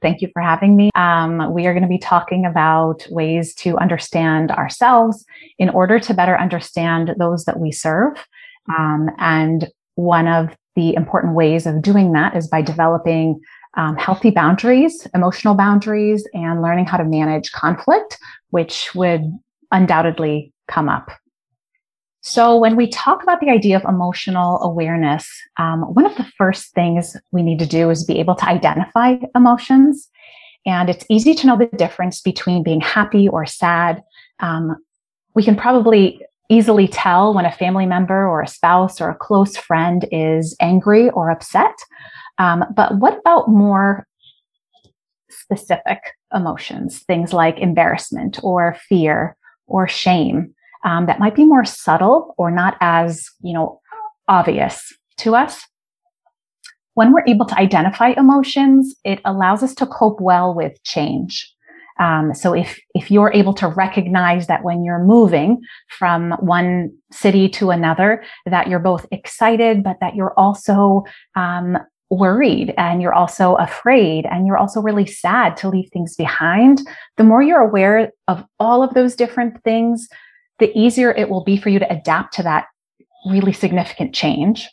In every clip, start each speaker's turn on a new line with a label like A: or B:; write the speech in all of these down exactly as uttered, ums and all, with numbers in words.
A: Thank you for having me. Um, we are going to be talking about ways to understand ourselves in order to better understand those that we serve. Um, and one of the important ways of doing that is by developing um, healthy boundaries, emotional boundaries, and learning how to manage conflict, which would undoubtedly come up. So when we talk about the idea of emotional awareness, um, one of the first things we need to do is be able to identify emotions. And it's easy to know the difference between being happy or sad. Um, we can probably easily tell when a family member or a spouse or a close friend is angry or upset. Um, but what about more specific emotions, things like embarrassment or fear or shame? Um, that might be more subtle or not as, you know, obvious to us. When we're able to identify emotions, it allows us to cope well with change. Um, so if if you're able to recognize that when you're moving from one city to another, that you're both excited, but that you're also um, worried and you're also afraid and you're also really sad to leave things behind, the more you're aware of all of those different things, the easier it will be for you to adapt to that really significant change.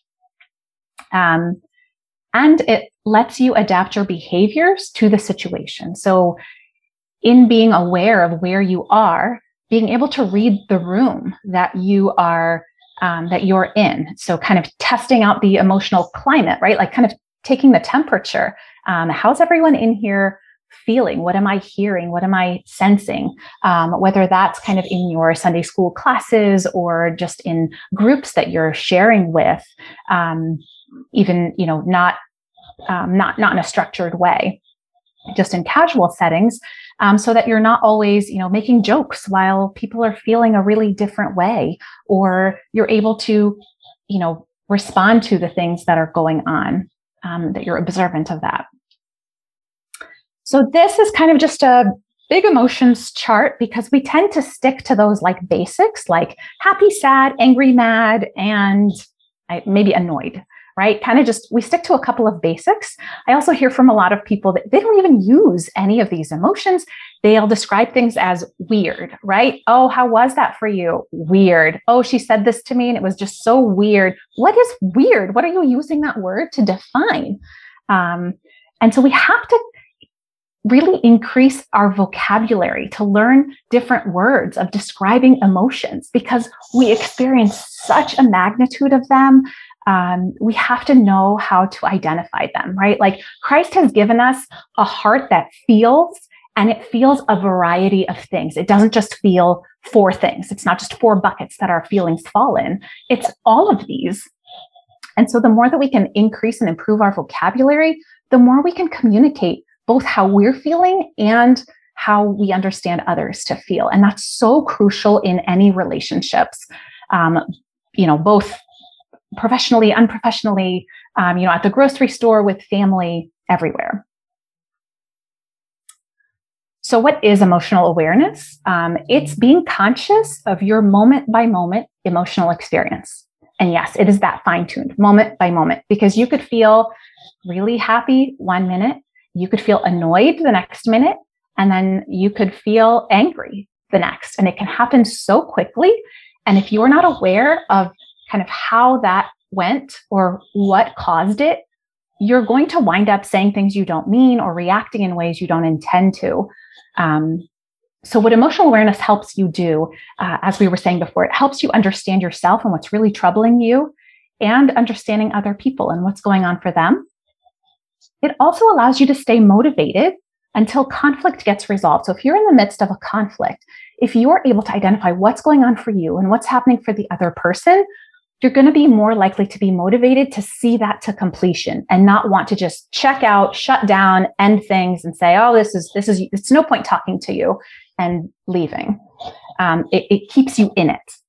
A: Um, and it lets you adapt your behaviors to the situation. So in being aware of where you are, being able to read the room that you are, um, that you're in. So kind of testing out the emotional climate, right? Like kind of taking the temperature. Um, how's everyone in here feeling? What am I hearing? What am I sensing? Um, whether that's kind of in your Sunday school classes or just in groups that you're sharing with, um, even, you know, not, um, not, not in a structured way, just in casual settings, um, so that you're not always, you know, making jokes while people are feeling a really different way, or you're able to, you know, respond to the things that are going on, um, that you're observant of that. So this is kind of just a big emotions chart because we tend to stick to those like basics, like happy, sad, angry, mad, and maybe annoyed, right? Kind of just, we stick to a couple of basics. I also hear from a lot of people that they don't even use any of these emotions. They'll describe things as weird, right? Oh, how was that for you? Weird. Oh, she said this to me and it was just so weird. What is weird? What are you using that word to define? Um, and so we have to really increase our vocabulary to learn different words of describing emotions because we experience such a magnitude of them. Um, we have to know how to identify them, right? Like Christ has given us a heart that feels, and it feels a variety of things. It doesn't just feel four things. It's not just four buckets that our feelings fall in. It's all of these. And so the more that we can increase and improve our vocabulary, the more we can communicate both how we're feeling and how we understand others to feel. And that's so crucial in any relationships, um, you know, both professionally, unprofessionally, um, you know, at the grocery store, with family, everywhere. So what is emotional awareness? Um, it's being conscious of your moment by moment emotional experience. And yes, it is that fine-tuned moment by moment, because you could feel really happy one minute, you could feel annoyed the next minute, and then you could feel angry the next. And it can happen so quickly. And if you're not aware of kind of how that went or what caused it, you're going to wind up saying things you don't mean or reacting in ways you don't intend to. Um, so what emotional awareness helps you do, uh, as we were saying before, it helps you understand yourself and what's really troubling you, and understanding other people and what's going on for them. It also allows you to stay motivated until conflict gets resolved. So if you're in the midst of a conflict, if you're able to identify what's going on for you and what's happening for the other person, you're going to be more likely to be motivated to see that to completion and not want to just check out, shut down, end things and say, oh, this is, this is, it's no point talking to you, and leaving. Um, it, it keeps you in it.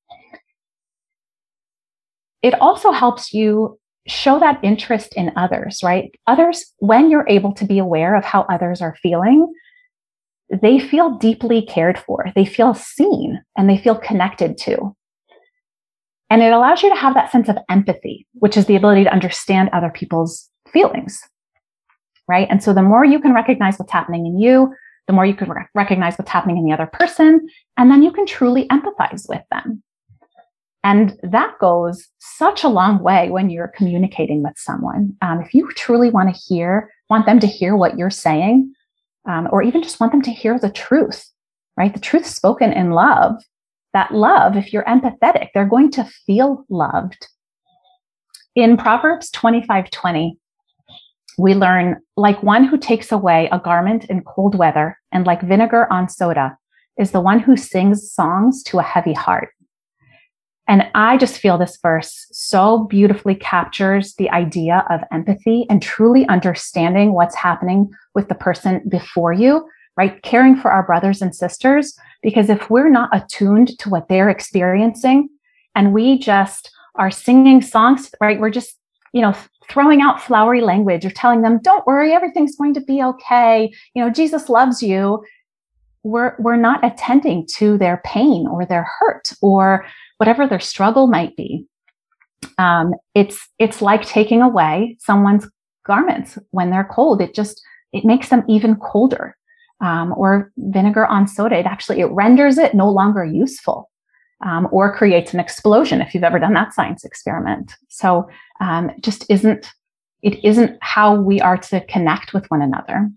A: It also helps you show that interest in others, right? Others, when you're able to be aware of how others are feeling, they feel deeply cared for, they feel seen, and they feel connected to. And it allows you to have that sense of empathy, which is the ability to understand other people's feelings. right? And so the more you can recognize what's happening in you, the more you can re- recognize what's happening in the other person, and then you can truly empathize with them. And that goes such a long way when you're communicating with someone. Um, if you truly want to hear, want them to hear what you're saying, um, or even just want them to hear the truth, right? The truth spoken in love, that love, if you're empathetic, they're going to feel loved. In Proverbs twenty-five twenty, we learn, like one who takes away a garment in cold weather and like vinegar on soda is the one who sings songs to a heavy heart. And I just feel this verse so beautifully captures the idea of empathy and truly understanding what's happening with the person before you, right? Caring for our brothers and sisters, because if we're not attuned to what they're experiencing and we just are singing songs, right? We're just, you know, throwing out flowery language or telling them, don't worry, everything's going to be okay. You know, Jesus loves you. We're, we're not attending to their pain or their hurt or whatever their struggle might be. Um, it's, it's like taking away someone's garments when they're cold. It just, it makes them even colder. Um, or vinegar on soda, it actually, it renders it no longer useful, um, or creates an explosion if you've ever done that science experiment. So um, it just isn't, it isn't how we are to connect with one another.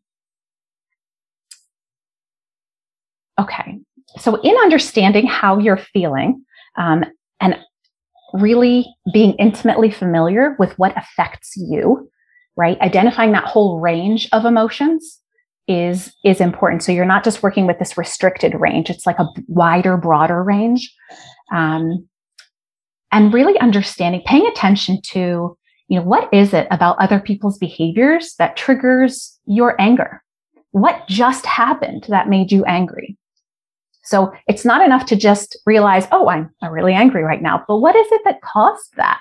A: Okay, so in understanding how you're feeling, um, and really being intimately familiar with what affects you, right? Identifying that whole range of emotions is, is important. So you're not just working with this restricted range. It's like a wider, broader range. Um, and really understanding, paying attention to, you know, what is it about other people's behaviors that triggers your anger? What just happened that made you angry? So it's not enough to just realize, oh, I'm, I'm really angry right now, but what is it that caused that?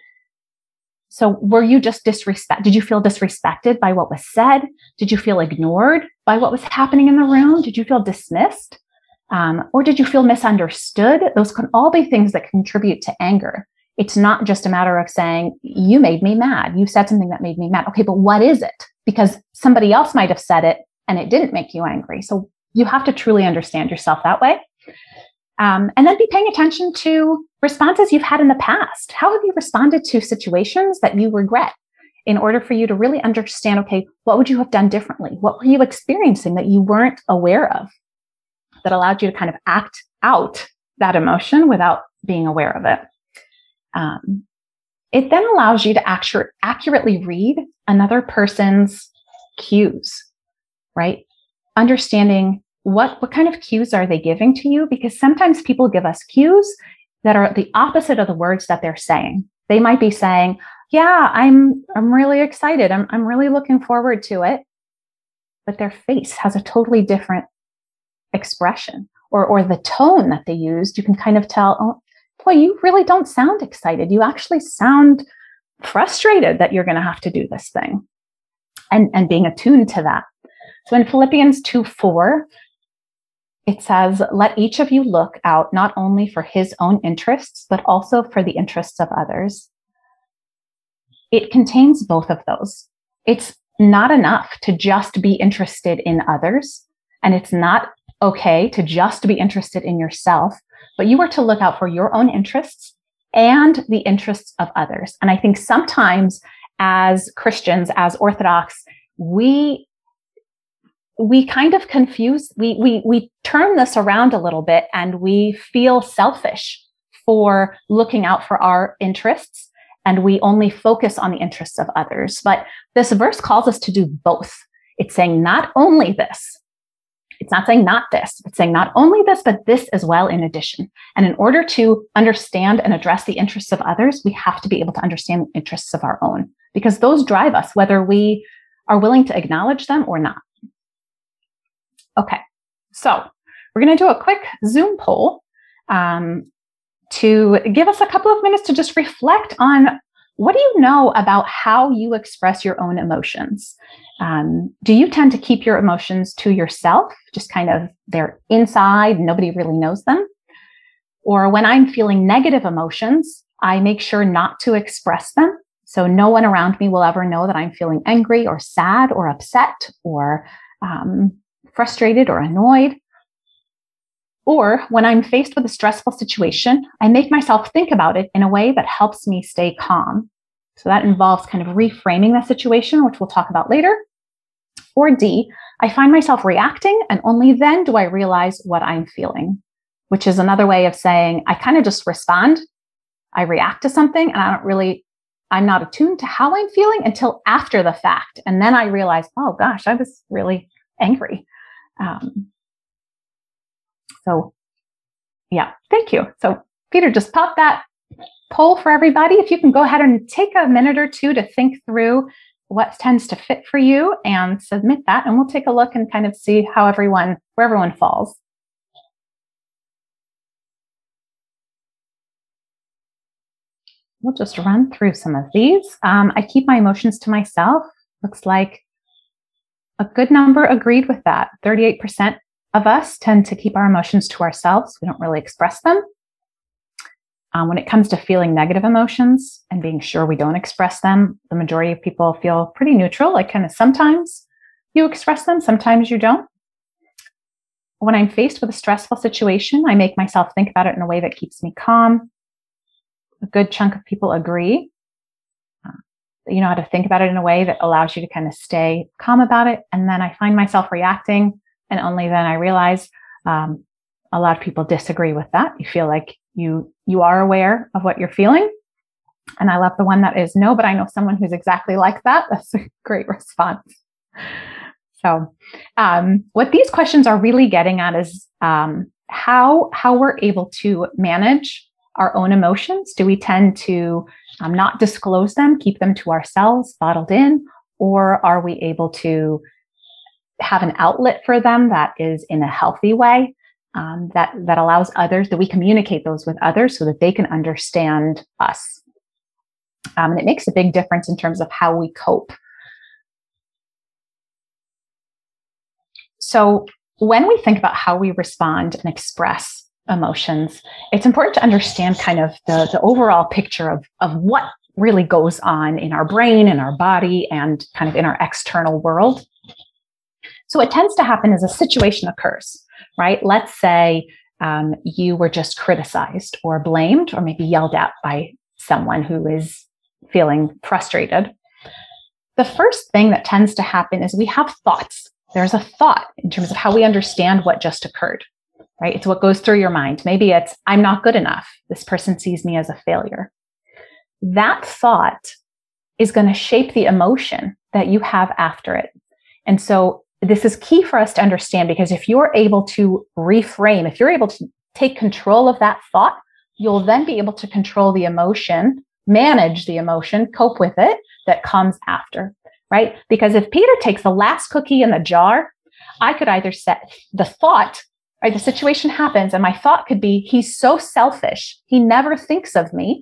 A: So were you just disrespect? Did you feel disrespected by what was said? Did you feel ignored by what was happening in the room? Did you feel dismissed? Um, or did you feel misunderstood? Those can all be things that contribute to anger. It's not just a matter of saying, you made me mad. You said something that made me mad. Okay, but what is it? Because somebody else might have said it and it didn't make you angry. So you have to truly understand yourself that way. Um, and then be paying attention to responses you've had in the past. How have you responded to situations that you regret in order for you to really understand, okay, what would you have done differently? What were you experiencing that you weren't aware of that allowed you to kind of act out that emotion without being aware of it? Um, it then allows you to actu- accurately read another person's cues, right? Understanding what, what kind of cues are they giving to you? Because sometimes people give us cues that are the opposite of the words that they're saying. They might be saying, yeah, I'm, I'm really excited. I'm, I'm really looking forward to it. But their face has a totally different expression, or, or the tone that they used. You can kind of tell, oh, boy, you really don't sound excited. You actually sound frustrated that you're going to have to do this thing, and, and being attuned to that. So in Philippians two four, it says, let each of you look out not only for his own interests, but also for the interests of others. It contains both of those. It's not enough to just be interested in others, and it's not okay to just be interested in yourself, but you are to look out for your own interests and the interests of others. And I think sometimes as Christians, as Orthodox, we we kind of confuse, we, we, we turn this around a little bit, and we feel selfish for looking out for our interests, and we only focus on the interests of others. But this verse calls us to do both. It's saying not only this, it's not saying not this, it's saying not only this, but this as well in addition. And in order to understand and address the interests of others, we have to be able to understand the interests of our own, because those drive us, whether we are willing to acknowledge them or not. Okay, so we're going to do a quick Zoom poll um, to give us a couple of minutes to just reflect on, what do you know about how you express your own emotions? Um, do you tend to keep your emotions to yourself, just kind of they're inside, nobody really knows them? Or when I'm feeling negative emotions, I make sure not to express them. So no one around me will ever know that I'm feeling angry or sad or upset or um, frustrated or annoyed. Or when I'm faced with a stressful situation, I make myself think about it in a way that helps me stay calm. So that involves kind of reframing the situation, which we'll talk about later. Or D, I find myself reacting, and only then do I realize what I'm feeling, which is another way of saying I kind of just respond. I react to something, and I don't really, I'm not attuned to how I'm feeling until after the fact. And then I realize, oh gosh, I was really angry. Um, so yeah, thank you. So Peter, just pop that poll for everybody. If you can go ahead and take a minute or two to think through what tends to fit for you and submit that, and we'll take a look and kind of see how everyone, where everyone falls. We'll just run through some of these. Um, I keep my emotions to myself. Looks like a good number agreed with that. thirty-eight percent of us tend to keep our emotions to ourselves. We don't really express them. Um, when it comes to feeling negative emotions and being sure we don't express them, the majority of people feel pretty neutral, like kind of sometimes you express them, sometimes you don't. When I'm faced with a stressful situation, I make myself think about it in a way that keeps me calm. A good chunk of people agree uh, that you know how to think about it in a way that allows you to kind of stay calm about it. And then I find myself reacting, and only then I realize um, a lot of people disagree with that. You feel like you you are aware of what you're feeling. And I love the one that is no, but I know someone who's exactly like that. That's a great response. So um, what these questions are really getting at is um, how, how we're able to manage our own emotions. Do we tend to um, not disclose them, keep them to ourselves, bottled in, or are we able to have an outlet for them that is in a healthy way? Um, that, that allows others, that we communicate those with others so that they can understand us. Um, and it makes a big difference in terms of how we cope. So when we think about how we respond and express emotions, it's important to understand kind of the, the overall picture of, of what really goes on in our brain, in our body, and kind of in our external world. So what tends to happen is a situation occurs, right? Let's say um, you were just criticized or blamed or maybe yelled at by someone who is feeling frustrated. The first thing that tends to happen is we have thoughts. There's a thought in terms of how we understand what just occurred, right? It's what goes through your mind. Maybe it's, I'm not good enough. This person sees me as a failure. That thought is going to shape the emotion that you have after it. And so this is key for us to understand, because if you're able to reframe, if you're able to take control of that thought, you'll then be able to control the emotion, manage the emotion, cope with it that comes after, right? Because if Peter takes the last cookie in the jar, I could either set the thought, right? The situation happens and my thought could be, he's so selfish, he never thinks of me.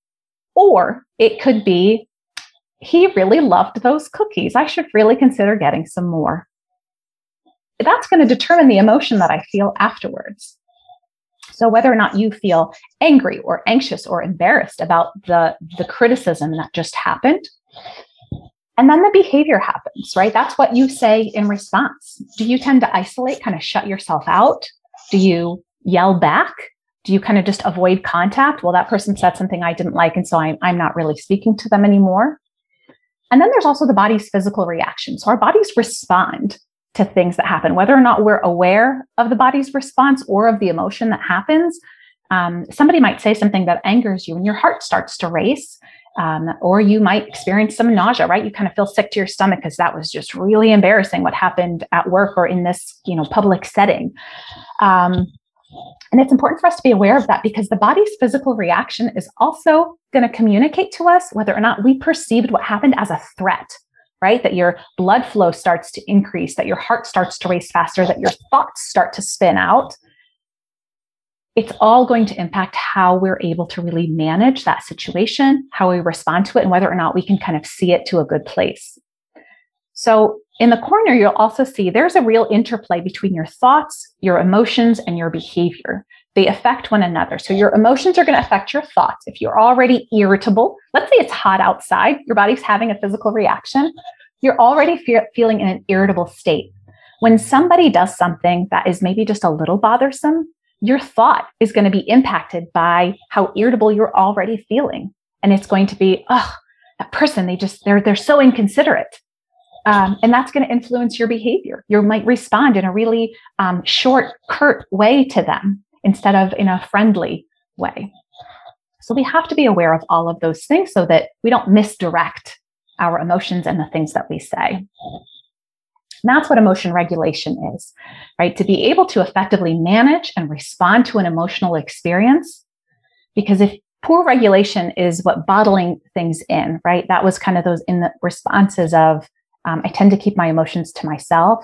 A: Or it could be, he really loved those cookies, I should really consider getting some more. That's going to determine the emotion that I feel afterwards. So whether or not you feel angry or anxious or embarrassed about the, the criticism that just happened, and then the behavior happens, right? That's what you say in response. Do you tend to isolate, kind of shut yourself out? Do you yell back? Do you kind of just avoid contact? Well, that person said something I didn't like, and so I'm, I'm not really speaking to them anymore. And then there's also the body's physical reaction. So our bodies respond to things that happen, whether or not we're aware of the body's response or of the emotion that happens. Um, somebody might say something that angers you and your heart starts to race, um, or you might experience some nausea, right? You kind of feel sick to your stomach because that was just really embarrassing what happened at work or in this, you know, public setting. Um, and it's important for us to be aware of that, because the body's physical reaction is also going to communicate to us whether or not we perceived what happened as a threat. Right? That your blood flow starts to increase, that your heart starts to race faster, that your thoughts start to spin out. It's all going to impact how we're able to really manage that situation, how we respond to it, and whether or not we can kind of see it to a good place. So in the corner, you'll also see there's a real interplay between your thoughts, your emotions, and your behavior. they affect one another. So your emotions are going to affect your thoughts. If you're already irritable, let's say it's hot outside, your body's having a physical reaction, you're already fe- feeling in an irritable state. When somebody does something that is maybe just a little bothersome, your thought is going to be impacted by how irritable you're already feeling. And it's going to be, oh, that person, they just, they're, they're so inconsiderate. Um, and that's going to influence your behavior. You might respond in a really um, short, curt way to them instead of in a friendly way. So we have to be aware of all of those things so that we don't misdirect our emotions and the things that we say. And that's what emotion regulation is, right? To be able to effectively manage and respond to an emotional experience. Because if poor regulation is what bottling things in, right? That was kind of those in the responses of, um, I tend to keep my emotions to myself.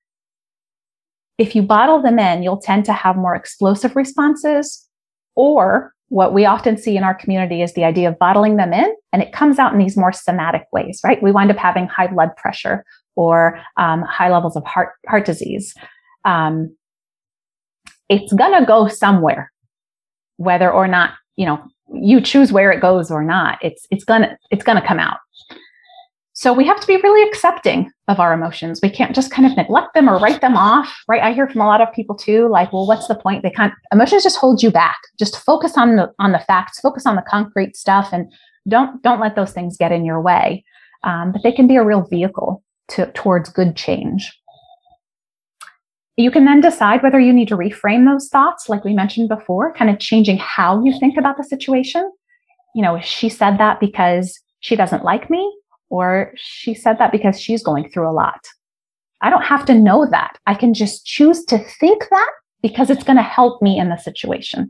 A: If you bottle them in, you'll tend to have more explosive responses, or what we often see in our community is the idea of bottling them in, and it comes out in these more somatic ways, right? We wind up having high blood pressure or um, high levels of heart heart disease. Um, it's gonna go somewhere, whether or not you know you choose where it goes or not. It's it's gonna it's gonna come out. So we have to be really accepting of our emotions. We can't just kind of neglect them or write them off, right? I hear from a lot of people too, like, well, what's the point? They can't, emotions just hold you back. Just focus on the, on the facts, focus on the concrete stuff, and don't, don't let those things get in your way. Um, but they can be a real vehicle to, towards good change. You can then decide whether you need to reframe those thoughts, like we mentioned before, kind of changing how you think about the situation. You know, she said that because she doesn't like me, or she said that because she's going through a lot. I don't have to know that. I can just choose to think that because it's going to help me in the situation.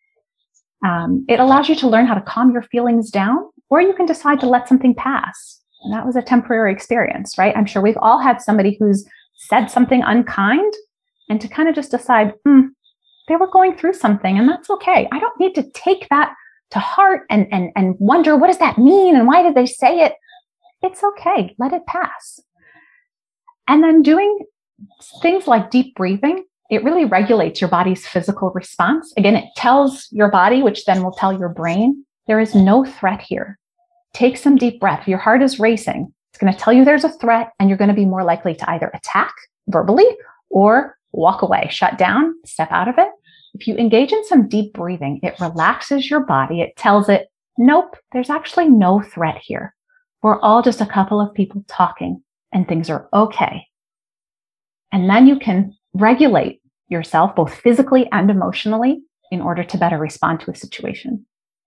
A: Um, it allows you to learn how to calm your feelings down, or you can decide to let something pass. And that was a temporary experience, right? I'm sure we've all had somebody who's said something unkind, and to kind of just decide, hmm, they were going through something, and that's okay. I don't need to take that to heart and, and, and wonder, what does that mean? And why did they say it? It's okay. Let it pass. And then doing things like deep breathing, it really regulates your body's physical response. Again, it tells your body, which then will tell your brain, there is no threat here. Take some deep breath. Your heart is racing. It's going to tell you there's a threat, and you're going to be more likely to either attack verbally or walk away, shut down, step out of it. If you engage in some deep breathing, it relaxes your body. It tells it, nope, there's actually no threat here. We're all just a couple of people talking, and things are okay. And then you can regulate yourself both physically and emotionally in order to better respond to a situation.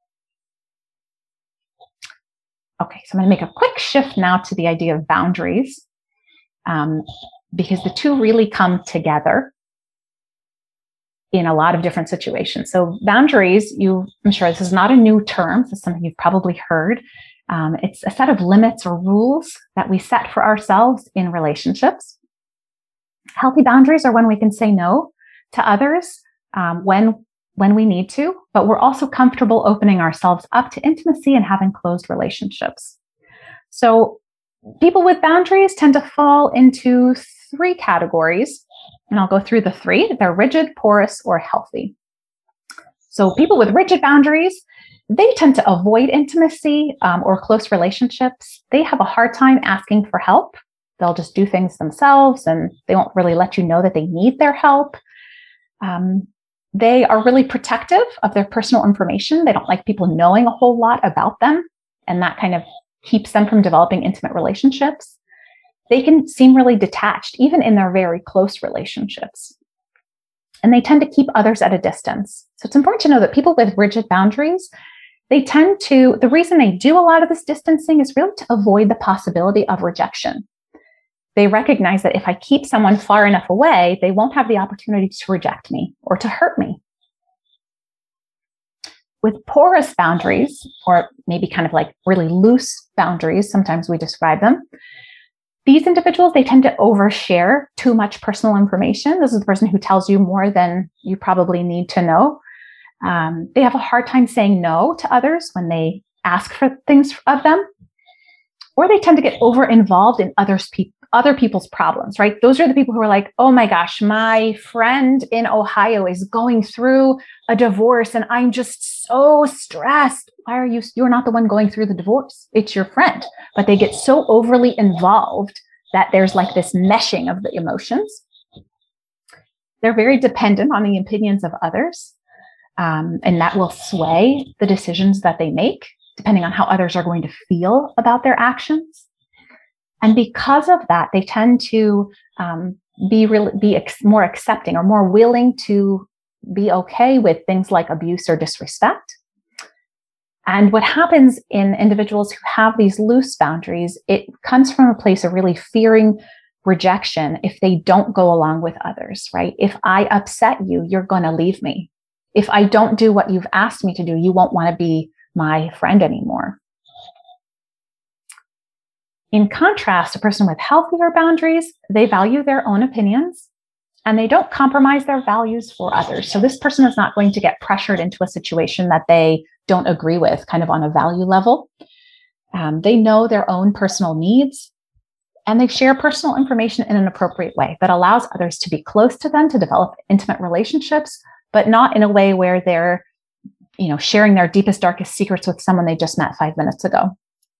A: Okay, so I'm going to make a quick shift now to the idea of boundaries, um, because the two really come together in a lot of different situations. So boundaries, you, I'm sure this is not a new term. This is something you've probably heard. Um, it's a set of limits or rules that we set for ourselves in relationships. Healthy boundaries are when we can say no to others um, when, when we need to, but we're also comfortable opening ourselves up to intimacy and having closed relationships. So people with boundaries tend to fall into three categories, and I'll go through the three. They're rigid, porous, or healthy. So people with rigid boundaries, they tend to avoid intimacy um, or close relationships. They have a hard time asking for help. They'll just do things themselves, and they won't really let you know that they need their help. Um, they are really protective of their personal information. They don't like people knowing a whole lot about them, and that kind of keeps them from developing intimate relationships. They can seem really detached, even in their very close relationships. And they tend to keep others at a distance. So it's important to know that people with rigid boundaries, they tend to, the reason they do a lot of this distancing is really to avoid the possibility of rejection. They recognize that if I keep someone far enough away, they won't have the opportunity to reject me or to hurt me. With porous boundaries, or maybe kind of like really loose boundaries, sometimes we describe them, these individuals, they tend to overshare too much personal information. This is the person who tells you more than you probably need to know. Um, they have a hard time saying no to others when they ask for things of them, or they tend to get over involved in others pe- other people's problems, right? Those are the people who are like, oh my gosh, my friend in Ohio is going through a divorce and I'm just so stressed. Why are you, you're not the one going through the divorce. It's your friend. But they get so overly involved that there's like this meshing of the emotions. They're very dependent on the opinions of others. Um, and that will sway the decisions that they make, depending on how others are going to feel about their actions. And because of that, they tend to um, be really, be ex- more accepting or more willing to be okay with things like abuse or disrespect. And what happens in individuals who have these loose boundaries, it comes from a place of really fearing rejection if they don't go along with others, right? If I upset you, you're going to leave me. If I don't do what you've asked me to do, you won't want to be my friend anymore. In contrast, a person with healthier boundaries, they value their own opinions and they don't compromise their values for others. So this person is not going to get pressured into a situation that they don't agree with, kind of on a value level. Um, they know their own personal needs and they share personal information in an appropriate way that allows others to be close to them, to develop intimate relationships, but not in a way where they're, you know, sharing their deepest, darkest secrets with someone they just met five minutes ago.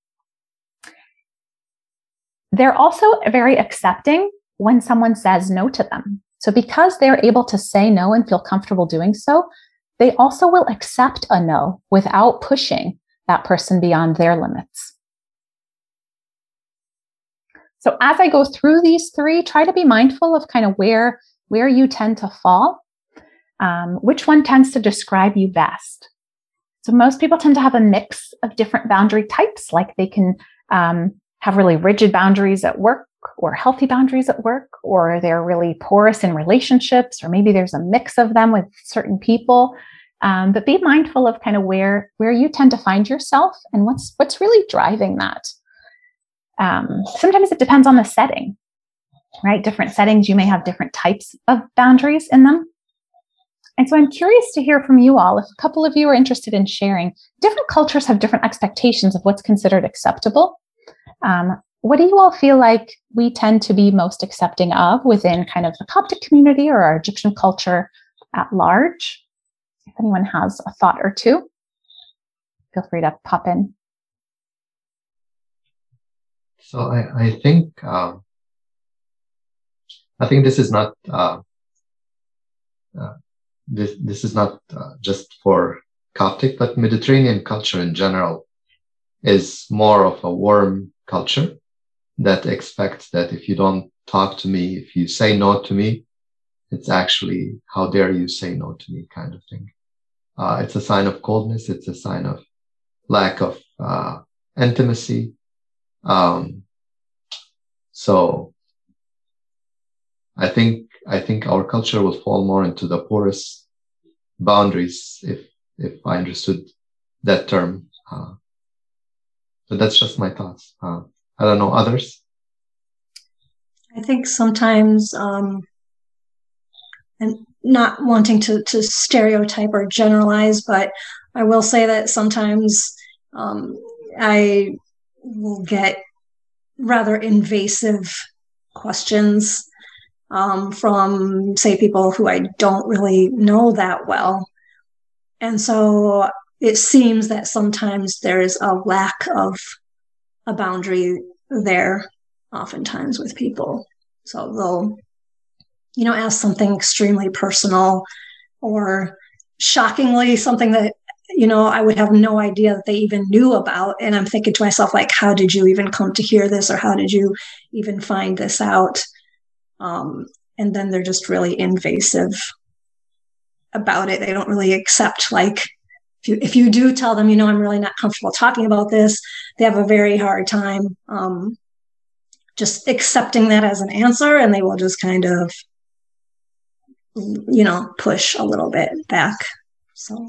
A: They're also very accepting when someone says no to them. So because they're able to say no and feel comfortable doing so, they also will accept a no without pushing that person beyond their limits. So as I go through these three, try to be mindful of kind of where, where you tend to fall, um, which one tends to describe you best. So most people tend to have a mix of different boundary types, like they can um, have really rigid boundaries at work or healthy boundaries at work, or they're really porous in relationships, or maybe there's a mix of them with certain people. Um, but be mindful of kind of where, where you tend to find yourself and what's, what's really driving that. Um, sometimes it depends on the setting, right? Different settings, you may have different types of boundaries in them. And so I'm curious to hear from you all. If a couple of you are interested in sharing, different cultures have different expectations of what's considered acceptable. Um, what do you all feel like we tend to be most accepting of within kind of the Coptic community or our Egyptian culture at large? If anyone has a thought or two, feel free to pop in.
B: So I, I think uh, I think this is not uh, uh, this this is not uh, just for Coptic, but Mediterranean culture in general is more of a warm culture that expects that if you don't talk to me, if you say no to me, it's actually how dare you say no to me kind of thing. Uh, it's a sign of coldness. It's a sign of lack of uh, intimacy. Um, so I think I think our culture will fall more into the porous boundaries if if I understood that term. Uh, but that's just my thoughts. Uh, I don't know others.
C: I think sometimes, um, and not wanting to, to stereotype or generalize, but I will say that sometimes um, I will get rather invasive questions um, from, say, people who I don't really know that well. And so it seems that sometimes there is a lack of a boundary there, oftentimes with people. So they'll, you know, ask something extremely personal or shockingly something that, you know, I would have no idea that they even knew about. And I'm thinking to myself, like, how did you even come to hear this? Or how did you even find this out? Um, and then they're just really invasive about it. They don't really accept, like, if you, if you do tell them, you know, I'm really not comfortable talking about this, they have a very hard time um, just accepting that as an answer. And they will just kind of, you know, push a little bit back. So.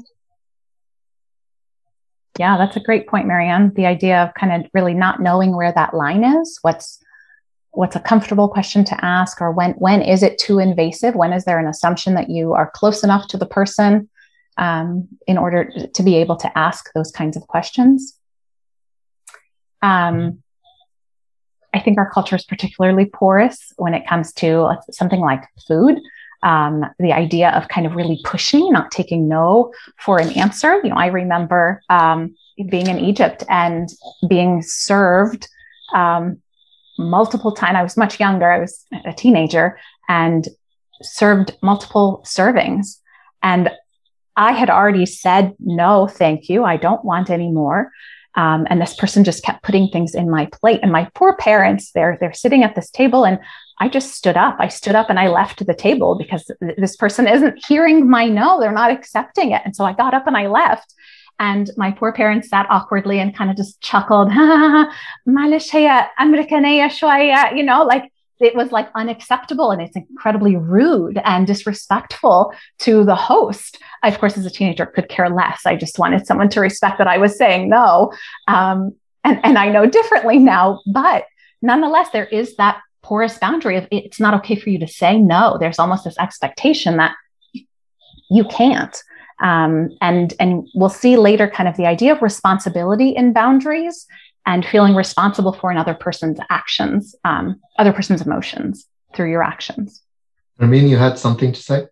A: Yeah, that's a great point, Marianne. The idea of kind of really not knowing where that line is, what's what's a comfortable question to ask, or when when is it too invasive? When is there an assumption that you are close enough to the person um, in order to be able to ask those kinds of questions? Um, I think our culture is particularly porous when it comes to something like food. Um, the idea of kind of really pushing, not taking no for an answer. You know, I remember um, being in Egypt and being served um, multiple times. I was much younger. I was a teenager and served multiple servings. And I had already said, no, thank you. I don't want any more. Um, and this person just kept putting things in my plate. And my poor parents, they're, they're sitting at this table, and I just stood up. I stood up and I left the table because th- this person isn't hearing my no. They're not accepting it. And so I got up and I left. And my poor parents sat awkwardly and kind of just chuckled. "معلش هي أمريكانية شوية," you know, like it was like unacceptable, and it's incredibly rude and disrespectful to the host. I, of course, as a teenager, could care less. I just wanted someone to respect that I was saying no. Um, and, and I know differently now, but nonetheless, there is that porous boundary of it's not okay for you to say no. There's almost this expectation that you can't. Um, and, and we'll see later kind of the idea of responsibility in boundaries and feeling responsible for another person's actions, um, other person's emotions through your actions.
B: Nermeen, you had something to say?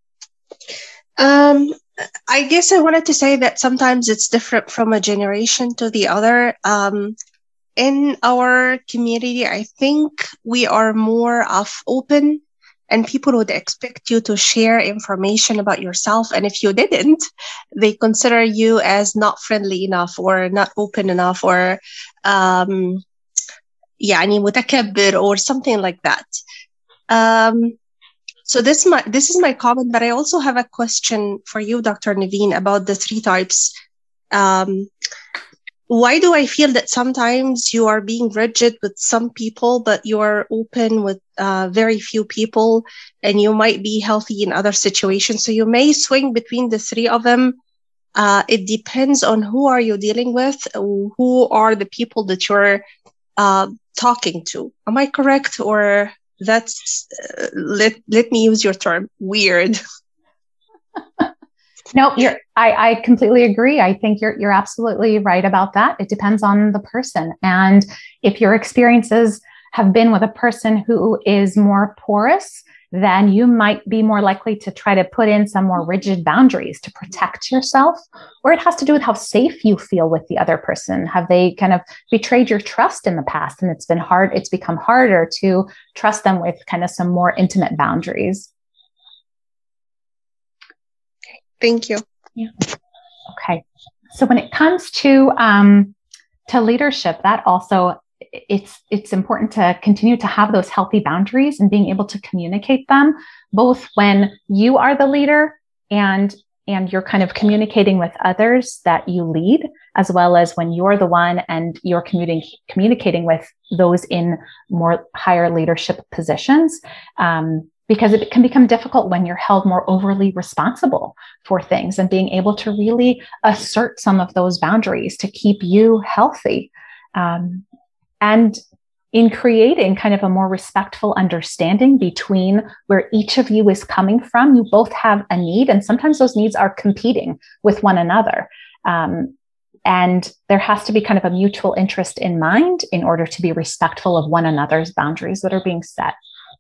D: Um, I guess I wanted to say that sometimes it's different from a generation to the other. Um, in our community, I think we are more of open, and people would expect you to share information about yourself. And if you didn't, they consider you as not friendly enough or not open enough or um, يعني متكبر or something like that. Um, so this, my, this is my comment, but I also have a question for you, Doctor Naveen, about the three types. Um, Why do I feel that sometimes you are being rigid with some people, but you are open with uh, very few people, and you might be healthy in other situations? So you may swing between the three of them. Uh, it depends on who are you dealing with, who are the people that you're uh, talking to. Am I correct? Or that's, uh, let, let me use your term, weird.
A: No, you're, I, I completely agree. I think you're, you're absolutely right about that. It depends on the person. And if your experiences have been with a person who is more porous, then you might be more likely to try to put in some more rigid boundaries to protect yourself. Or it has to do with how safe you feel with the other person. Have they kind of betrayed your trust in the past? And it's been hard, it's become harder to trust them with kind of some more intimate boundaries.
D: Thank you.
A: Yeah. Okay. So when it comes to um, to leadership, that also it's it's important to continue to have those healthy boundaries and being able to communicate them, both when you are the leader and and you're kind of communicating with others that you lead, as well as when you're the one and you're communicating communicating with those in more higher leadership positions. Um, Because it can become difficult when you're held more overly responsible for things, and being able to really assert some of those boundaries to keep you healthy. Um, and in creating kind of a more respectful understanding between where each of you is coming from, you both have a need, and sometimes those needs are competing with one another. Um, and there has to be kind of a mutual interest in mind in order to be respectful of one another's boundaries that are being set.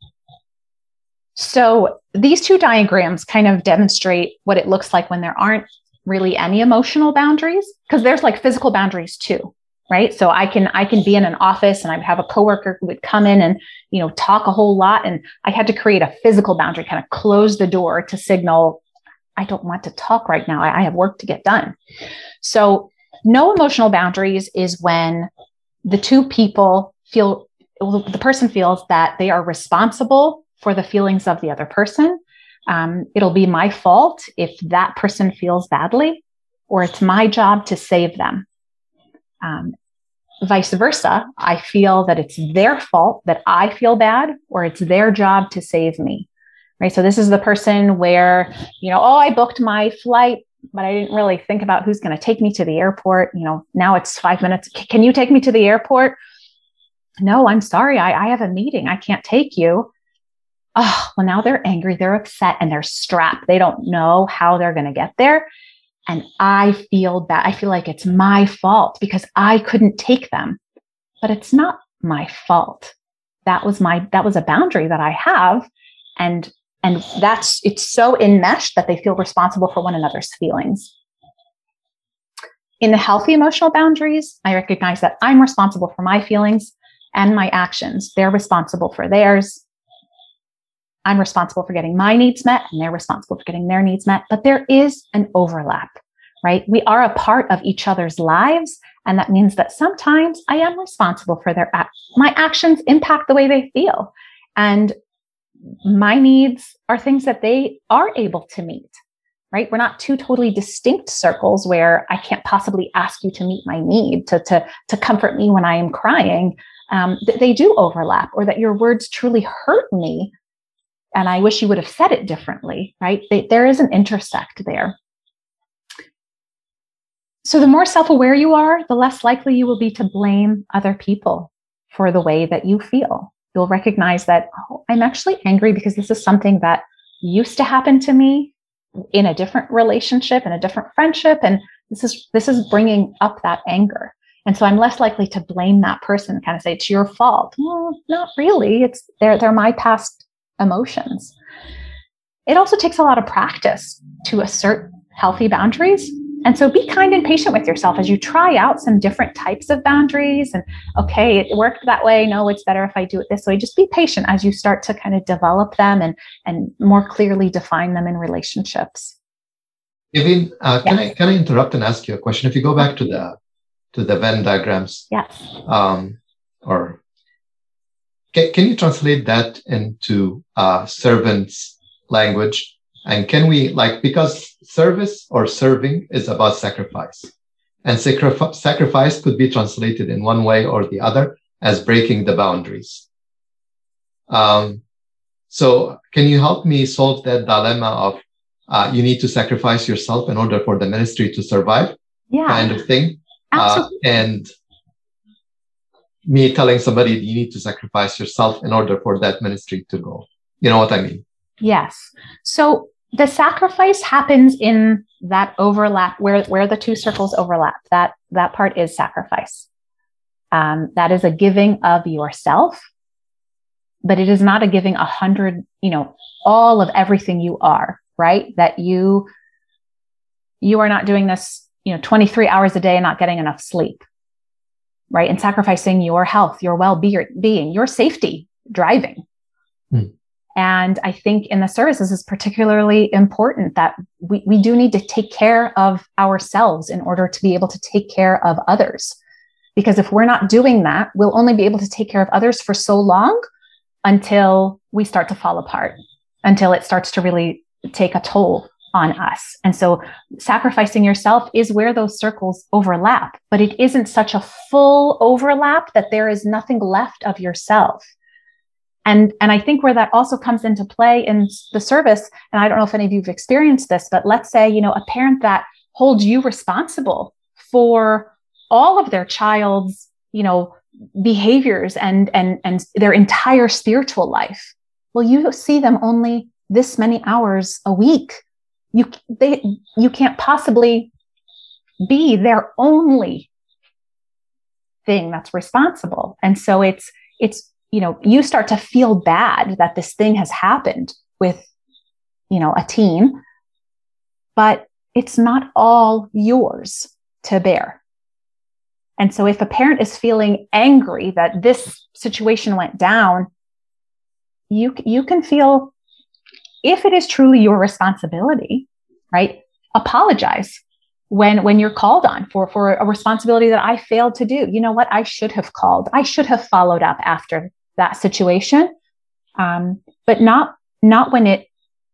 A: So these two diagrams kind of demonstrate what it looks like when there aren't really any emotional boundaries, because there's like physical boundaries too, right? So I can I can be in an office and I would have a coworker who would come in and, you know, talk a whole lot, and I had to create a physical boundary, kind of close the door to signal, I don't want to talk right now. I, I have work to get done. So no emotional boundaries is when the two people feel, the person feels that they are responsible for the feelings of the other person. Um, it'll be my fault if that person feels badly, or it's my job to save them. Um, vice versa, I feel that it's their fault that I feel bad, or it's their job to save me, right? So this is the person where, you know, oh, I booked my flight, but I didn't really think about who's going to take me to the airport. You know, now it's five minutes. Can you take me to the airport? No, I'm sorry. I, I have a meeting. I can't take you. Oh, well, now they're angry, they're upset, and they're strapped. They don't know how they're going to get there. And I feel bad. I feel like it's my fault because I couldn't take them. But it's not my fault. That was my, that was a boundary that I have. And, and that's, it's so enmeshed that they feel responsible for one another's feelings. In the healthy emotional boundaries, I recognize that I'm responsible for my feelings and my actions. They're responsible for theirs. I'm responsible for getting my needs met, and they're responsible for getting their needs met. But there is an overlap, right? We are a part of each other's lives. And that means that sometimes I am responsible for their act. My actions impact the way they feel. And my needs are things that they are able to meet, right? We're not two totally distinct circles where I can't possibly ask you to meet my need, to, to, to comfort me when I am crying. Um, th- they do overlap, or that your words truly hurt me and I wish you would have said it differently, right? They, there is an intersect there. So the more self-aware you are, the less likely you will be to blame other people for the way that you feel. You'll recognize that, oh, I'm actually angry because this is something that used to happen to me in a different relationship, in a different friendship. And this is, this is bringing up that anger. And so I'm less likely to blame that person, kind of say, it's your fault. Well, not really. It's they're, they're my past emotions. It also takes a lot of practice to assert healthy boundaries. And so be kind and patient with yourself as you try out some different types of boundaries. And okay, it worked that way. No, it's better if I do it this way. Just be patient as you start to kind of develop them and, and more clearly define them in relationships.
B: Evin, uh,
A: Yes.
B: can I can I interrupt and ask you a question? If you go back to the to the Venn diagrams,
A: Yes.
B: um, or can, can you translate that into uh, servants' language? And can we, like, because service or serving is about sacrifice, and sacri- sacrifice could be translated in one way or the other as breaking the boundaries. Um, so can you help me solve that dilemma of uh, you need to sacrifice yourself in order for the ministry to survive,
A: Yeah.
B: kind of thing?
A: Absolutely.
B: Uh, and me telling somebody you need to sacrifice yourself in order for that ministry to go. You know what I mean?
A: Yes. So the sacrifice happens in that overlap where, where the two circles overlap. That, that part is sacrifice. Um, that is a giving of yourself, but it is not a giving a hundred, you know, all of everything you are, right? That you, you are not doing this, you know, twenty-three hours a day and not getting enough sleep, right? And sacrificing your health, your well-being, your safety, driving.
B: Hmm.
A: And I think in the services is particularly important that we, we do need to take care of ourselves in order to be able to take care of others. Because if we're not doing that, we'll only be able to take care of others for so long until we start to fall apart, until it starts to really take a toll on us. And so sacrificing yourself is where those circles overlap, but it isn't such a full overlap that there is nothing left of yourself. And, and I think where that also comes into play in the service, and I don't know if any of you have experienced this, but let's say, you know, a parent that holds you responsible for all of their child's, you know, behaviors and, and, and their entire spiritual life. Well, you see them only this many hours a week. You, they, you can't possibly be their only thing that's responsible. And so it's, it's, you know, you start to feel bad that this thing has happened with, you know, a teen, but it's not all yours to bear. And so if a parent is feeling angry that this situation went down, you, you can feel, if it is truly your responsibility, right? Apologize when, when you're called on for, for a responsibility that I failed to do. You know what? I should have called. I should have followed up after that situation. Um, but not, not when it,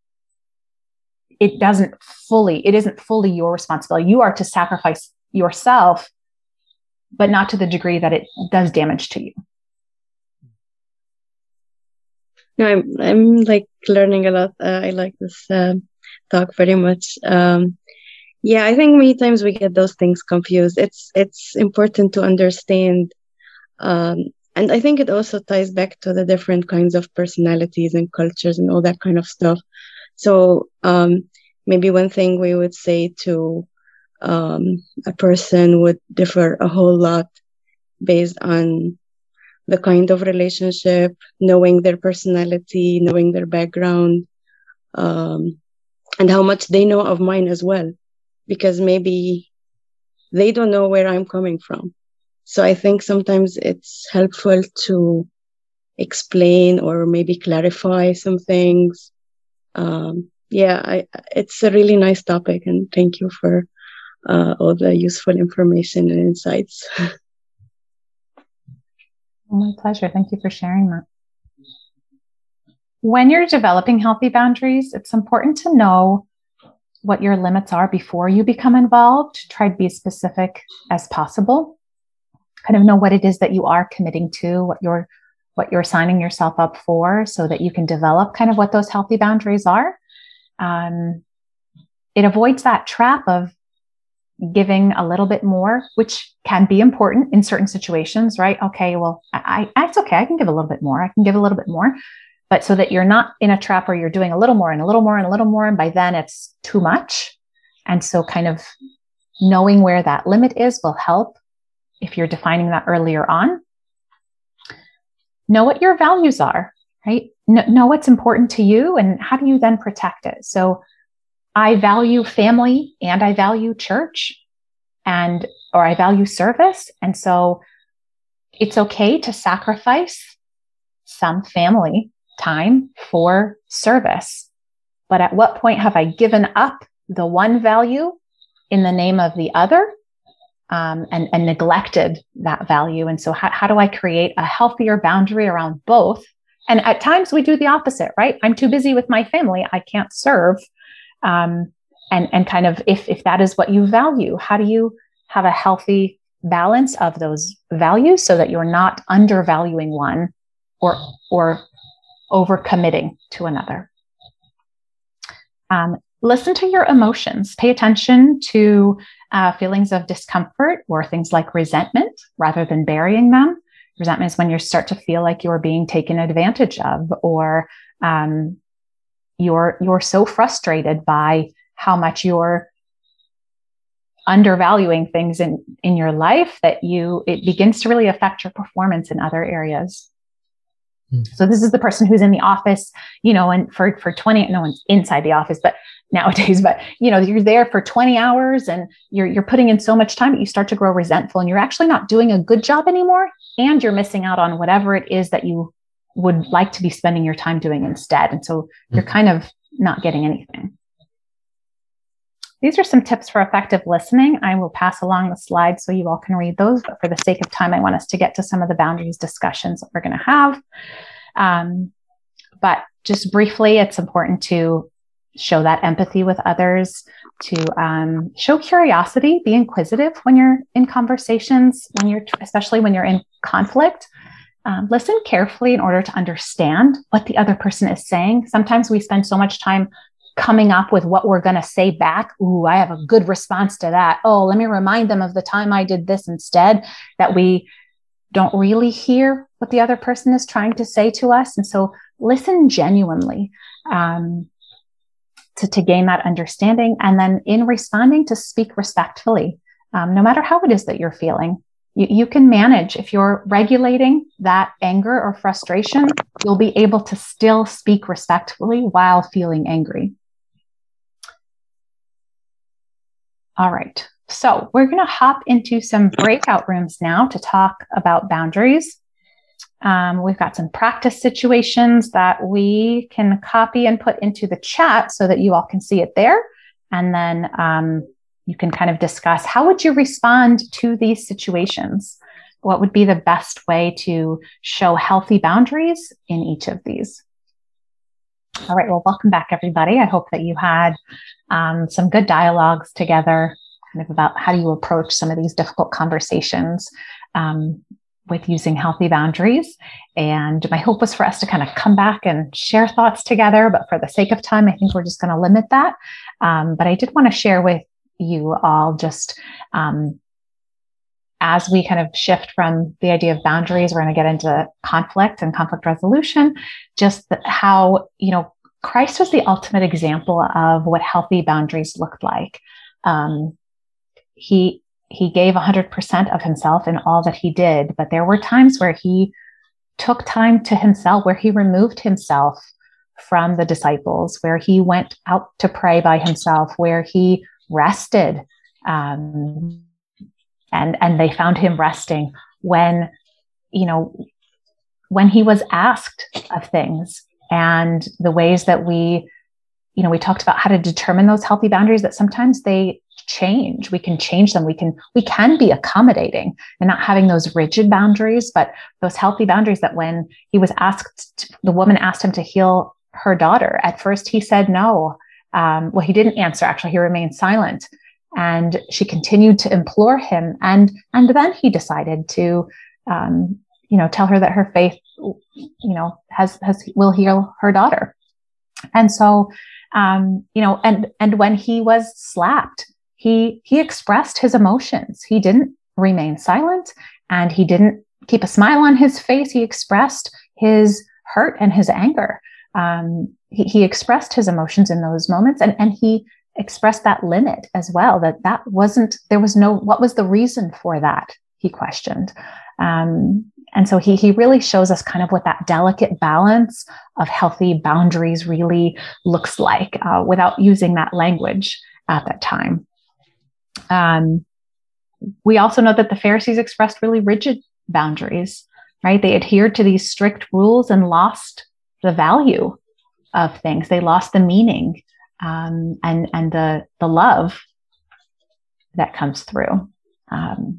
A: it doesn't fully, it isn't fully your responsibility. You are to sacrifice yourself, but not to the degree that it does damage to you.
E: No, I'm I'm like learning a lot. Uh, I like this uh, talk very much. Um, yeah, I think many times we get those things confused. It's it's important to understand, um, and I think it also ties back to the different kinds of personalities and cultures and all that kind of stuff. So um, maybe one thing we would say to um, a person would differ a whole lot based on the kind of relationship, knowing their personality, knowing their background, um, and how much they know of mine as well, because maybe they don't know where I'm coming from. So I think sometimes it's helpful to explain or maybe clarify some things. Um, yeah, I, it's a really nice topic, and thank you for uh, all the useful information and insights.
A: My pleasure. Thank you for sharing that. When you're developing healthy boundaries, it's important to know what your limits are before you become involved. Try to be as specific as possible. Kind of know what it is that you are committing to, what you're what you're signing yourself up for, so that you can develop kind of what those healthy boundaries are. Um, it avoids that trap of giving a little bit more, which can be important in certain situations, right? Okay, well, I, I, it's okay. I can give a little bit more. I can give a little bit more, but so that you're not in a trap where you're doing a little more and a little more and a little more, and by then it's too much. And so kind of knowing where that limit is will help if you're defining that earlier on. Know what your values are, right? Know, know what's important to you, and how do you then protect it? So I value family and I value church, and, or I value service. And so it's okay to sacrifice some family time for service. But at what point have I given up the one value in the name of the other, um, and, and neglected that value? And so how, how do I create a healthier boundary around both? And at times we do the opposite, right? I'm too busy with my family. I can't serve. Um, and, and kind of, if, if that is what you value, how do you have a healthy balance of those values so that you're not undervaluing one or, or overcommitting to another? Um, listen to your emotions. Pay attention to uh, feelings of discomfort or things like resentment rather than burying them. Resentment is when you start to feel like you're being taken advantage of, or um, you're you're so frustrated by how much you're undervaluing things in, in your life that you it begins to really affect your performance in other areas. Mm. So this is the person who's in the office, you know, and for, for twenty, no one's inside the office, but nowadays, but you know, you're there for twenty hours and you're you're putting in so much time that you start to grow resentful, and you're actually not doing a good job anymore, and you're missing out on whatever it is that you would like to be spending your time doing instead. And so you're kind of not getting anything. These are some tips for effective listening. I will pass along the slides so you all can read those, but for the sake of time, I want us to get to some of the boundaries discussions that we're going to have. Um, but just briefly, it's important to show that empathy with others, to um, show curiosity, be inquisitive when you're in conversations, when you're, especially when you're in conflict. Um, listen carefully in order to understand what the other person is saying. Sometimes we spend so much time coming up with what we're going to say back. Ooh, I have a good response to that. Oh, let me remind them of the time I did this instead, that we don't really hear what the other person is trying to say to us. And so listen genuinely um, to, to gain that understanding. And then in responding, to speak respectfully, um, no matter how it is that you're feeling. You, you can manage. If you're regulating that anger or frustration, you'll be able to still speak respectfully while feeling angry. All right. So we're going to hop into some breakout rooms now to talk about boundaries. Um, we've got some practice situations that we can copy and put into the chat so that you all can see it there. And then um, you can kind of discuss, how would you respond to these situations? What would be the best way to show healthy boundaries in each of these? All right, well, welcome back, everybody. I hope that you had um, some good dialogues together, kind of about how do you approach some of these difficult conversations um, with using healthy boundaries. And my hope was for us to kind of come back and share thoughts together, but for the sake of time, I think we're just going to limit that. Um, but I did want to share with you all just um, as we kind of shift from the idea of boundaries, we're going to get into conflict and conflict resolution, just the, how, you know, Christ was the ultimate example of what healthy boundaries looked like. Um, he, he gave one hundred percent of himself in all that he did, but there were times where he took time to himself, where he removed himself from the disciples, where he went out to pray by himself, where he rested, um, and and they found him resting when, you know, when he was asked of things, and the ways that we, you know, we talked about how to determine those healthy boundaries, that sometimes they change. We can change them. We can, we can be accommodating and not having those rigid boundaries, but those healthy boundaries that when he was asked, to, the woman asked him to heal her daughter. At first he said no. Um, well, he didn't answer. Actually, he remained silent, and she continued to implore him. And, and then he decided to, um, you know, tell her that her faith, you know, has, has, will heal her daughter. And so, um, you know, and, and when he was slapped, he, he expressed his emotions. He didn't remain silent, and he didn't keep a smile on his face. He expressed his hurt and his anger. Um, he, he expressed his emotions in those moments, and, and he expressed that limit as well, that that wasn't, there was no, what was the reason for that? He questioned. Um, and so he, he really shows us kind of what that delicate balance of healthy boundaries really looks like, uh, without using that language at that time. Um, we also know that the Pharisees expressed really rigid boundaries, right? They adhered to these strict rules and lost the value of things. They lost the meaning, um, and, and the, the love that comes through. Um,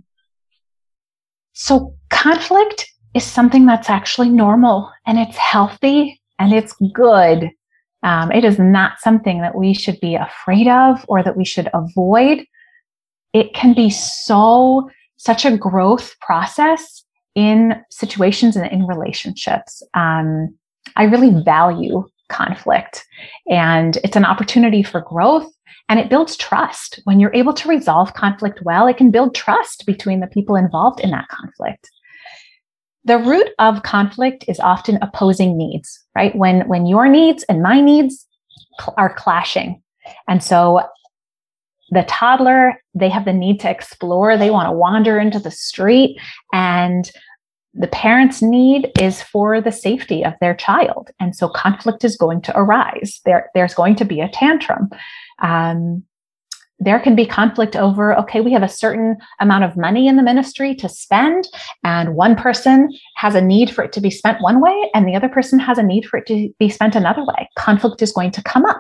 A: so conflict is something that's actually normal, and it's healthy, and it's good. Um, it is not something that we should be afraid of or that we should avoid. It can be so, such a growth process in situations and in relationships. Um, I really value conflict, and it's an opportunity for growth, and it builds trust. When you're able to resolve conflict well, it can build trust between the people involved in that conflict. The root of conflict is often opposing needs, right? When, when your needs and my needs cl- are clashing. And so the toddler, they have the need to explore. They want to wander into the street, and the parent's need is for the safety of their child. And so conflict is going to arise. There, there's going to be a tantrum. Um, there can be conflict over, okay, we have a certain amount of money in the ministry to spend, and one person has a need for it to be spent one way, and the other person has a need for it to be spent another way. Conflict is going to come up.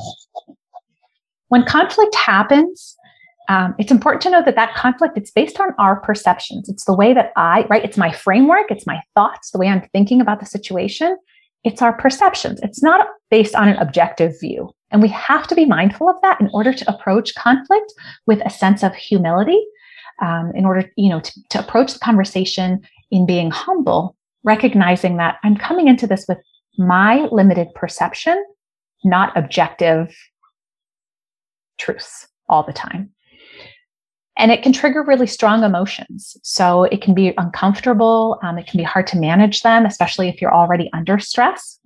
A: When conflict happens, um, it's important to know that that conflict, it's based on our perceptions. It's the way that I, right? It's my framework. It's my thoughts, the way I'm thinking about the situation. It's our perceptions. It's not based on an objective view. And we have to be mindful of that in order to approach conflict with a sense of humility, um, in order, you know, to, to approach the conversation in being humble, recognizing that I'm coming into this with my limited perception, not objective truths all the time. And it can trigger really strong emotions. So it can be uncomfortable. Um, it can be hard to manage them, especially if you're already under stress.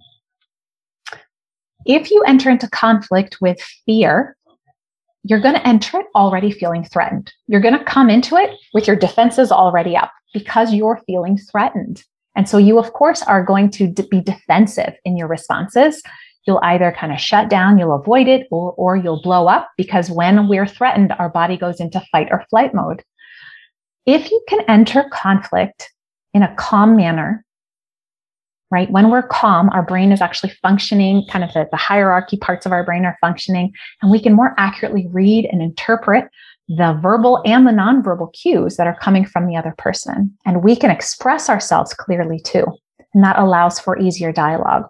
A: If you enter into conflict with fear, you're going to enter it already feeling threatened. You're going to come into it with your defenses already up because you're feeling threatened. And so you, of course, are going to d- be defensive in your responses. You'll either kind of shut down, you'll avoid it, or, or you'll blow up, because when we're threatened, our body goes into fight or flight mode. If you can enter conflict in a calm manner, right? When we're calm, our brain is actually functioning, kind of the, the hierarchy parts of our brain are functioning, and we can more accurately read and interpret the verbal and the nonverbal cues that are coming from the other person. And we can express ourselves clearly too. And that allows for easier dialogue.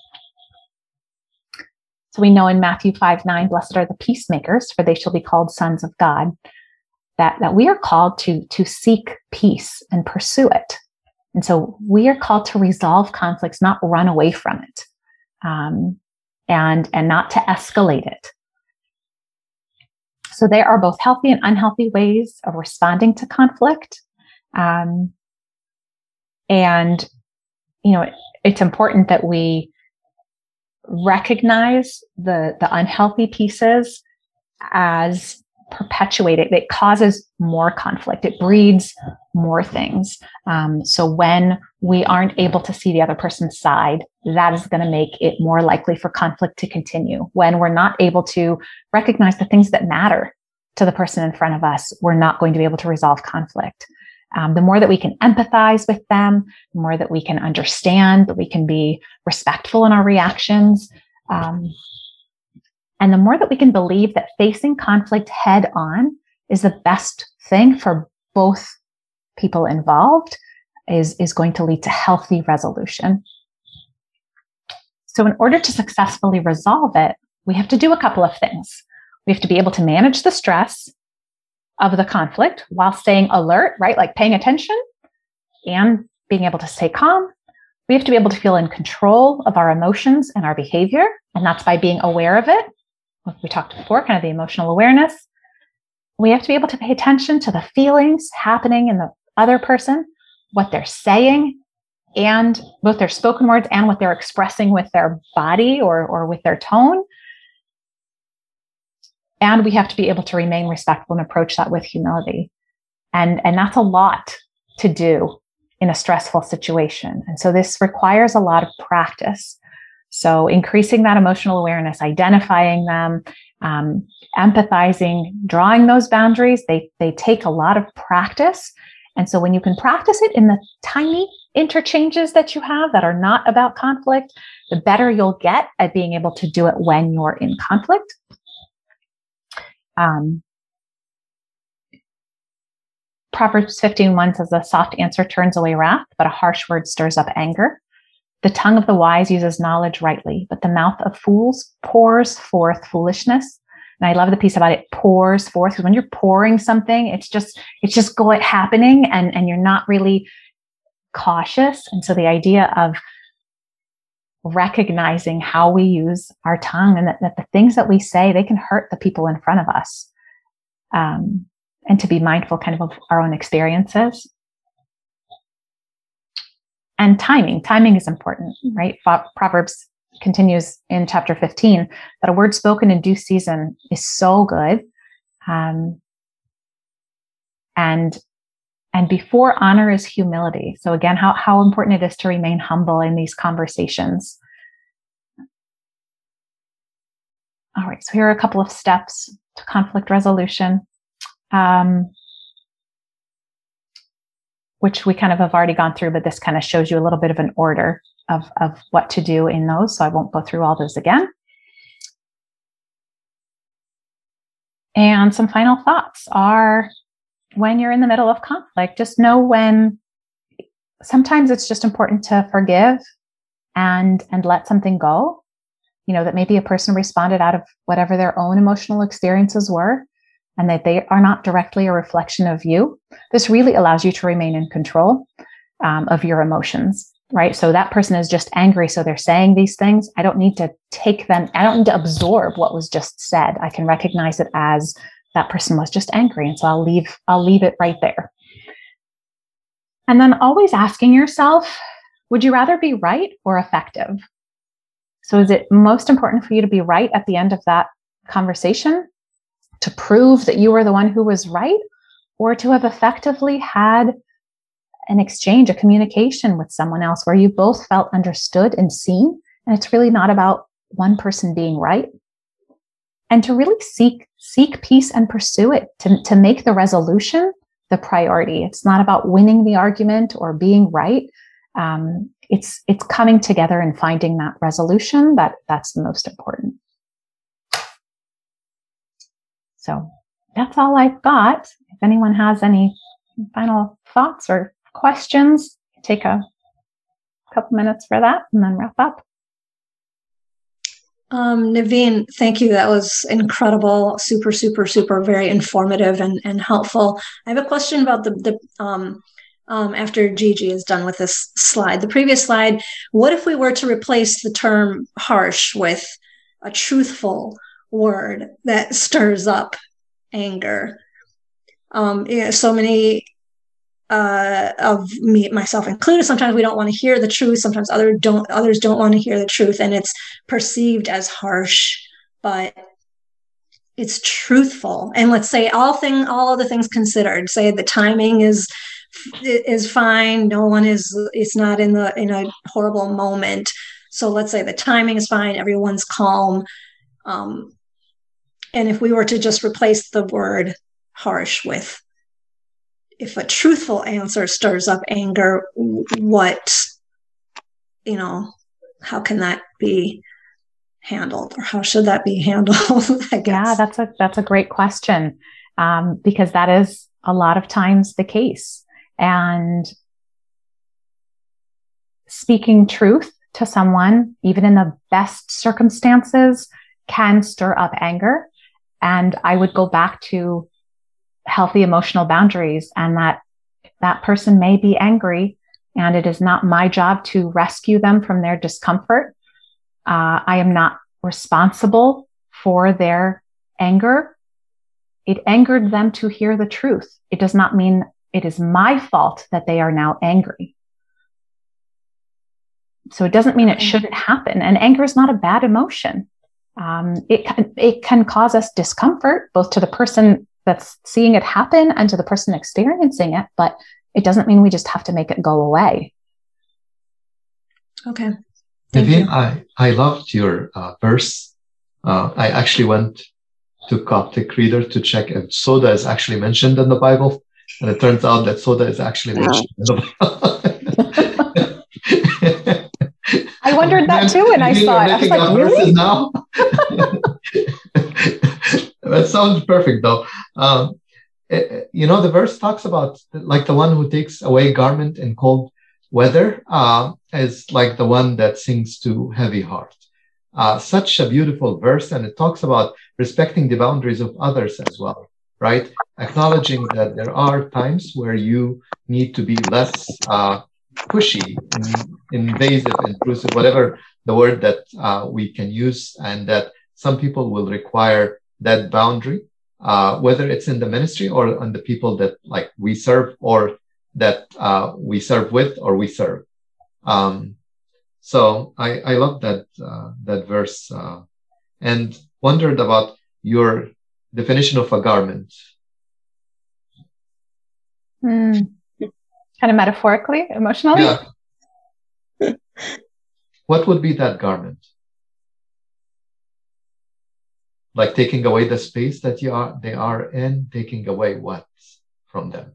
A: So we know in Matthew five nine, blessed are the peacemakers, for they shall be called sons of God, that, that we are called to, to seek peace and pursue it. And so we are called to resolve conflicts, not run away from it, um, and, and not to escalate it. So there are both healthy and unhealthy ways of responding to conflict. Um, and, you know, it, it's important that we recognize the, the unhealthy pieces as perpetuated. It causes more conflict. It breeds more things. Um, so when we aren't able to see the other person's side, that is going to make it more likely for conflict to continue. When we're not able to recognize the things that matter to the person in front of us, we're not going to be able to resolve conflict. Um, the more that we can empathize with them, the more that we can understand, that we can be respectful in our reactions, um, and the more that we can believe that facing conflict head on is the best thing for both people involved, is, is going to lead to healthy resolution. So in order to successfully resolve it, we have to do a couple of things. We have to be able to manage the stress of the conflict while staying alert, right? Like paying attention and being able to stay calm. We have to be able to feel in control of our emotions and our behavior. And that's by being aware of it. Like we talked before, kind of the emotional awareness. We have to be able to pay attention to the feelings happening in the other person, what they're saying, and both their spoken words and what they're expressing with their body or, or with their tone. And we have to be able to remain respectful and approach that with humility. And, and that's a lot to do in a stressful situation. And so this requires a lot of practice. So increasing that emotional awareness, identifying them, um, empathizing, drawing those boundaries, they, they take a lot of practice. And so when you can practice it in the tiny interchanges that you have that are not about conflict, the better you'll get at being able to do it when you're in conflict. Um, Proverbs fifteen one says, a soft answer turns away wrath, but a harsh word stirs up anger. The tongue of the wise uses knowledge rightly, but the mouth of fools pours forth foolishness. And I love the piece about it, pours forth, because when you're pouring something, it's just, it's just going happening and, and you're not really cautious. And so the idea of recognizing how we use our tongue and that, that the things that we say, they can hurt the people in front of us. Um, and to be mindful kind of of our own experiences. And timing, timing is important, right? Proverbs continues in chapter fifteen that a word spoken in due season is so good. Um, and, and before honor is humility. So again, how, how important it is to remain humble in these conversations. All right, so here are a couple of steps to conflict resolution, um, which we kind of have already gone through, but this kind of shows you a little bit of an order of, of what to do in those. So I won't go through all those again. And some final thoughts are, when you're in the middle of conflict, just know when sometimes it's just important to forgive and, and let something go. You know, that maybe a person responded out of whatever their own emotional experiences were, and that they are not directly a reflection of you. This really allows you to remain in control um, of your emotions, right? So that person is just angry, so they're saying these things. I don't need to take them, I don't need to absorb what was just said. I can recognize it as that person was just angry, and so I'll leave, I'll leave it right there. And then always asking yourself, would you rather be right or effective? So is it most important for you to be right at the end of that conversation, to prove that you were the one who was right, or to have effectively had an exchange, a communication with someone else where you both felt understood and seen? And it's really not about one person being right. And to really seek, seek peace and pursue it, to, to make the resolution the priority. It's not about winning the argument or being right. Um, it's, it's coming together and finding that resolution that that's the most important. So that's all I've got. If anyone has any final thoughts or questions, take a couple minutes for that and then wrap up.
C: Um, Naveen, thank you. That was incredible. Super, super, super, very informative and, and helpful. I have a question about the, the um, um, after Gigi is done with this slide, the previous slide. What if we were to replace the term harsh with a truthful word that stirs up anger? Um, you know, so many uh, of me, myself included, sometimes we don't want to hear the truth. Sometimes others don't, others don't want to hear the truth, and it's perceived as harsh, but it's truthful. And let's say all thing, all other things considered, say the timing is is fine. No one is, it's not in the, in a horrible moment. So let's say the timing is fine. Everyone's calm. Um, and if we were to just replace the word harsh with, if a truthful answer stirs up anger, what, you know, how can that be handled, or how should that be handled? I guess.
A: Yeah, that's a, that's a great question. Um, because that is a lot of times the case. And speaking truth to someone, even in the best circumstances, can stir up anger. And I would go back to healthy emotional boundaries, and that that person may be angry, and it is not my job to rescue them from their discomfort. Uh, I am not responsible for their anger. It angered them to hear the truth. It does not mean it is my fault that they are now angry. So it doesn't mean it shouldn't happen. And anger is not a bad emotion. Um, it, it can cause us discomfort, both to the person that's seeing it happen and to the person experiencing it, but it doesn't mean we just have to make it go away.
C: Okay.
B: Naveen, I, I loved your uh, verse. Uh, I actually went to Coptic Reader to check if soda is actually mentioned in the Bible. And it turns out that soda is actually mentioned in the Bible.
A: I wondered that too, and I saw it. I was like, really?
B: Now? That sounds perfect, though. Um, it, you know, the verse talks about like the one who takes away garment in cold weather uh, is like the one that sings to heavy heart. Uh, such a beautiful verse, and it talks about respecting the boundaries of others as well, right? Acknowledging that there are times where you need to be less uh, pushy, in, invasive, intrusive, whatever the word that uh, we can use, and that some people will require that boundary, uh, whether it's in the ministry or on the people that like we serve, or that uh, we serve with, or we serve. Um, so I, I love that uh, that verse uh, and wondered about your definition of a garment.
A: Mm. Kind of metaphorically, emotionally.
B: Yeah. What would be that garment? Like taking away the space that you are, they are in, taking away what from them?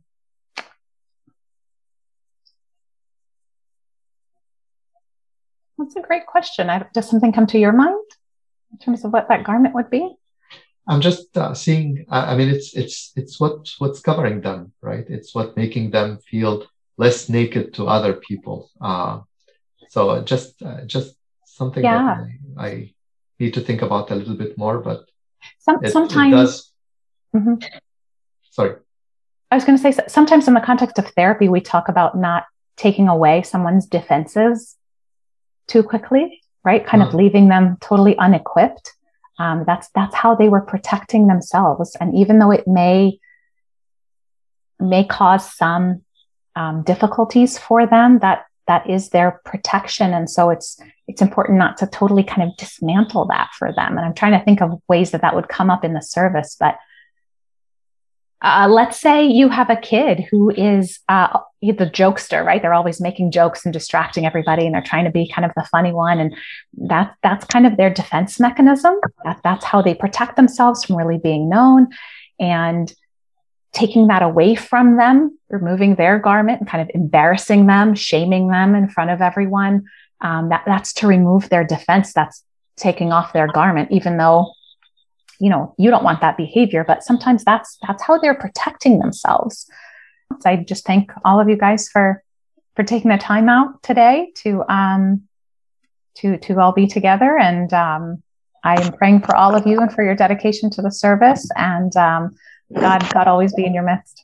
A: That's a great question. I, does something come to your mind in terms of what that garment would be?
B: I'm just uh, seeing. I, I mean, it's it's it's what what's covering them, right? It's what making them feel less naked to other people. Uh, so just uh, just something
A: yeah.
B: that I, I need to think about a little bit more. But
A: Some,
B: it,
A: sometimes.
B: It does.
A: Mm-hmm.
B: Sorry.
A: I was going to say, sometimes in the context of therapy, we talk about not taking away someone's defenses too quickly, right? Kind mm. of leaving them totally unequipped. Um, that's that's how they were protecting themselves. And even though it may may cause some um, difficulties for them, that that is their protection. And so it's it's important not to totally kind of dismantle that for them. And I'm trying to think of ways that that would come up in the service. But uh, let's say you have a kid who is uh, the jokester, right? They're always making jokes and distracting everybody, and they're trying to be kind of the funny one. And that that's kind of their defense mechanism. That, that's how they protect themselves from really being known. And taking that away from them, removing their garment and kind of embarrassing them, shaming them in front of everyone, um, that, that's to remove their defense. That's taking off their garment, even though, you know, you don't want that behavior, but sometimes that's, that's how they're protecting themselves. So I just thank all of you guys for, for taking the time out today to, um, to, to all be together. And, um, I am praying for all of you and for your dedication to the service, and, um, God, God always be in your midst.